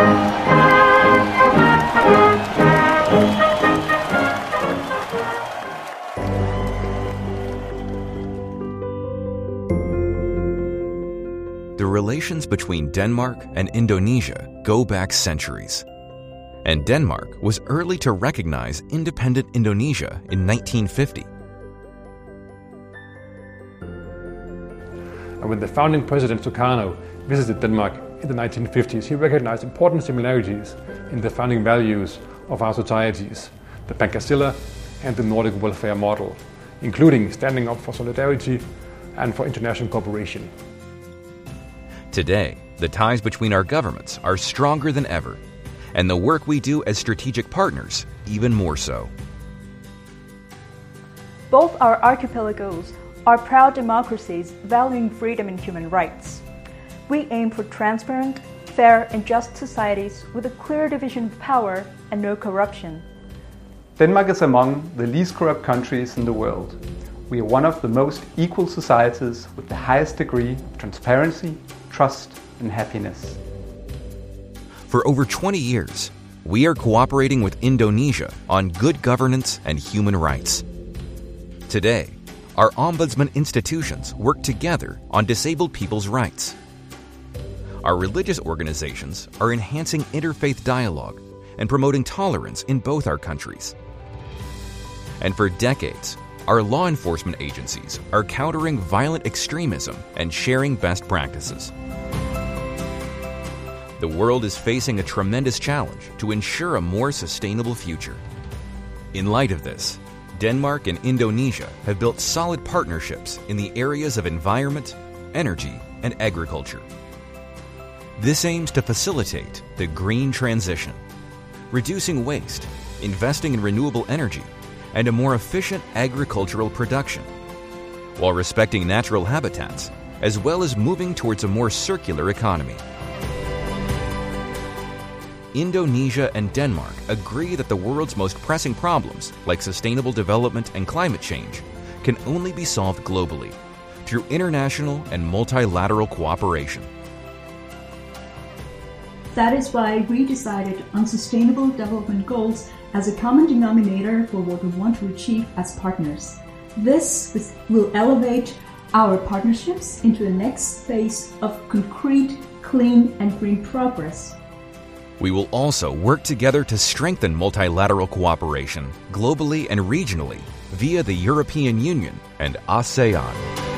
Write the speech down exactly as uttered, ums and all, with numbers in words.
The relations between Denmark and Indonesia go back centuries. And Denmark was early to recognize independent Indonesia in nineteen fifty. And when the founding president Sukarno visited Denmark in the nineteen fifties, he recognized important similarities in the founding values of our societies, the Pangasilar and the Nordic welfare model, including standing up for solidarity and for international cooperation. Today, the ties between our governments are stronger than ever, and the work we do as strategic partners even more so. Both our archipelagos are proud democracies valuing freedom and human rights. We aim for transparent, fair and just societies with a clear division of power and no corruption. Denmark is among the least corrupt countries in the world. We are one of the most equal societies with the highest degree of transparency, trust and happiness. For over twenty years, we are cooperating with Indonesia on good governance and human rights. Today, our ombudsman institutions work together on disabled people's rights. Our religious organizations are enhancing interfaith dialogue and promoting tolerance in both our countries. And for decades, our law enforcement agencies are countering violent extremism and sharing best practices. The world is facing a tremendous challenge to ensure a more sustainable future. In light of this, Denmark and Indonesia have built solid partnerships in the areas of environment, energy, and agriculture. This aims to facilitate the green transition, reducing waste, investing in renewable energy, and a more efficient agricultural production, while respecting natural habitats, as well as moving towards a more circular economy. Indonesia and Denmark agree that the world's most pressing problems, like sustainable development and climate change, can only be solved globally through international and multilateral cooperation. That is why we decided on Sustainable Development Goals as a common denominator for what we want to achieve as partners. This will elevate our partnerships into the next phase of concrete, clean and green progress. We will also work together to strengthen multilateral cooperation globally and regionally via the European Union and ASEAN.